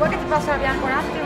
Vuoi che ti passo la bianca un attimo?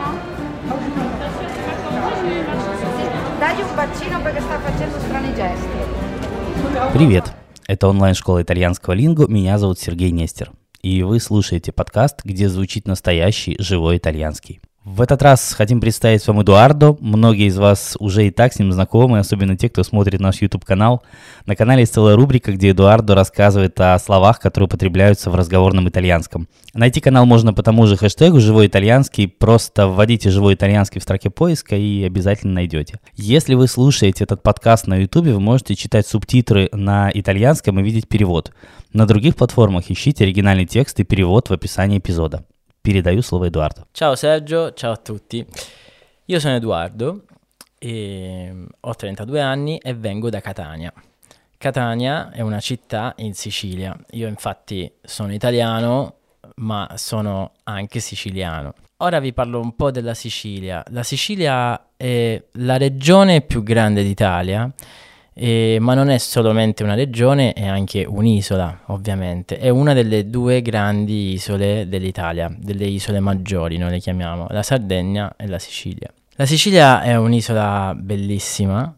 Dagli un bacino perché sta facendo strani gesti. Привет! Это онлайн-школа итальянского лингу, меня зовут Сергей Нестер. И вы слушаете подкаст, где звучит настоящий живой итальянский. В этот раз хотим представить вам Эдуардо. Многие из вас уже и так с ним знакомы, особенно те, кто смотрит наш YouTube-канал. На канале есть целая рубрика, где Эдуардо рассказывает о словах, которые употребляются в разговорном итальянском. Найти канал можно по тому же хэштегу «Живой итальянский». Просто вводите «Живой итальянский» в строке поиска и обязательно найдете. Если вы слушаете этот подкаст на YouTube, вы можете читать субтитры на итальянском и видеть перевод. На других платформах ищите оригинальный текст и перевод в описании эпизода. Передаю слово Эдуарду. Ciao Sergio, ciao a tutti. Io sono Edoardo, ho 32 anni e vengo da Catania. Catania è una città in Sicilia. Io infatti sono italiano, ma sono anche siciliano. Ora vi parlo un po' della Sicilia. La Sicilia è la regione più grande d'Italia. Ma non è solamente una regione, è anche un'isola, ovviamente. È una delle due grandi isole dell'Italia, delle isole maggiori, noi le chiamiamo, la Sardegna e la Sicilia. La Sicilia è un'isola bellissima,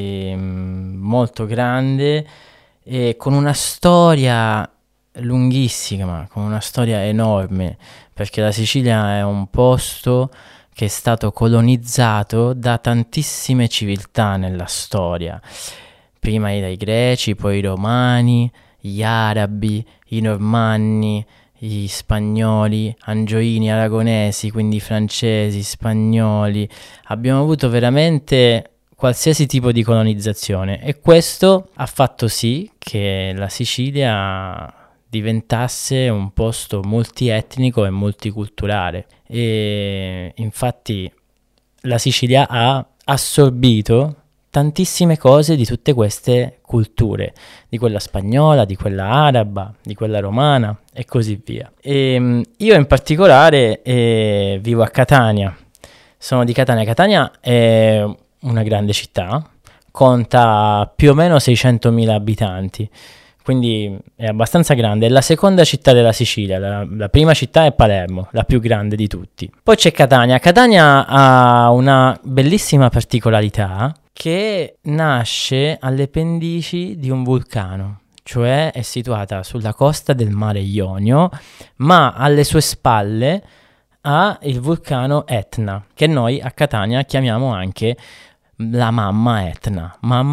molto grande e con una storia lunghissima, con una storia enorme, perché la Sicilia è un posto che è stato colonizzato da tantissime civiltà nella storia. Prima dai greci, poi i romani, gli arabi, i normanni, gli spagnoli, angioini, aragonesi, quindi francesi, spagnoli. Abbiamo avuto veramente qualsiasi tipo di colonizzazione e questo ha fatto sì che la Sicilia diventasse un posto multietnico e multiculturale. E infatti la Sicilia ha assorbito tantissime cose di tutte queste culture, di quella spagnola, di quella araba, di quella romana e così via. E io in particolare vivo a Catania, sono di Catania. Catania è una grande città, conta più o meno 600.000 abitanti, quindi è abbastanza grande, è la seconda città della Sicilia, la prima città è Palermo, la più grande di tutti. Poi c'è Catania. Catania ha una bellissima particolarità che nasce alle pendici di un vulcano, cioè è situata sulla costa del mare Ionio, ma alle sue spalle ha il vulcano Etna, che noi a Catania chiamiamo anche la mamma Etna,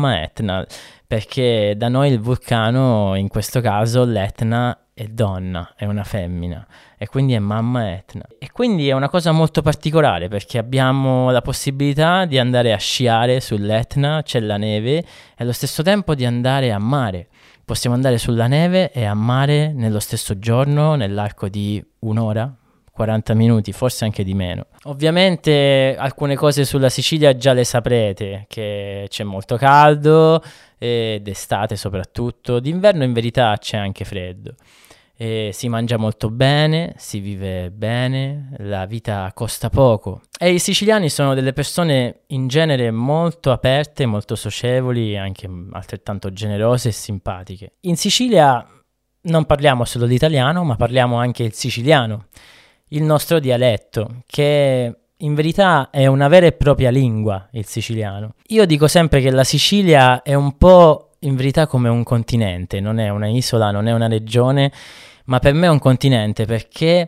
perché da noi il vulcano, in questo caso l'Etna, è donna, è una femmina e quindi è mamma Etna. E quindi è una cosa molto particolare perché abbiamo la possibilità di andare a sciare sull'Etna, c'è la neve e allo stesso tempo di andare a mare. Possiamo andare sulla neve e a mare nello stesso giorno, nell'arco di un'ora, 40 minuti, forse anche di meno. Ovviamente alcune cose sulla Sicilia già le saprete, che c'è molto caldo, d'estate soprattutto, d'inverno in verità c'è anche freddo. Si mangia molto bene, si vive bene, la vita costa poco e i siciliani sono delle persone in genere molto aperte, molto socievoli, anche altrettanto generose e simpatiche. In Sicilia non parliamo solo l'italiano, ma parliamo anche il siciliano, il nostro dialetto, che in verità è una vera e propria lingua, il siciliano. Io dico sempre che la Sicilia è un po' in verità come un continente, non è una isola, non è una regione, ma per me è un continente perché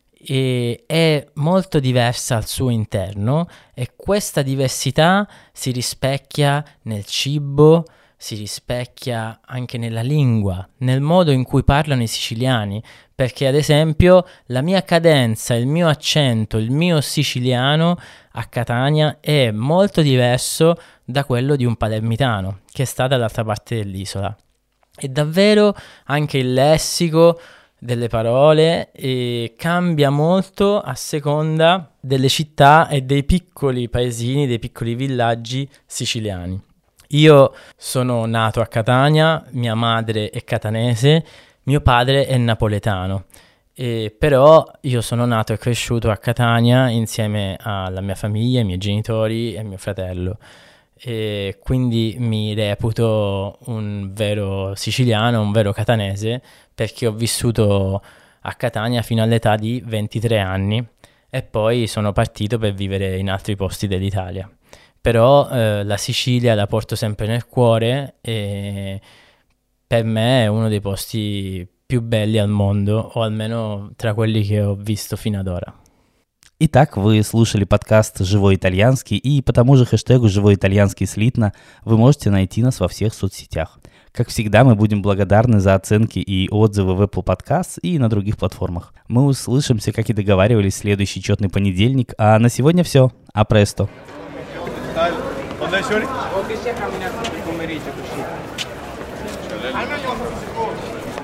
è molto diversa al suo interno e questa diversità si rispecchia nel cibo, si rispecchia anche nella lingua, nel modo in cui parlano i siciliani, perché ad esempio la mia cadenza, il mio accento, il mio siciliano a Catania è molto diverso da quello di un palermitano che sta dall'altra parte dell'isola. E davvero anche il lessico delle parole cambia molto a seconda delle città e dei piccoli paesini, dei piccoli villaggi siciliani. Io sono nato a Catania, mia madre è catanese, mio padre è napoletano, però io sono nato e cresciuto a Catania insieme alla mia famiglia, ai miei genitori e mio fratello. E quindi mi reputo un vero siciliano, un vero catanese, perché ho vissuto a Catania fino all'età di 23 anni e poi sono partito per vivere in altri posti dell'Italia. Però la Sicilia la porto sempre nel cuore e per me è uno dei posti più belli al mondo, o almeno tra quelli che ho visto fino ad ora. Итак, вы слушали подкаст «Живой итальянский», и по тому же хэштегу «Живой итальянский» слитно вы можете найти нас во всех соцсетях. Как всегда, мы будем благодарны за оценки и отзывы в Apple Podcasts и на других платформах. Мы услышимся, как и договаривались, в следующий четный понедельник, а на сегодня все. А престо! Quando hai soli? O che sia camminato il pomeriggio così.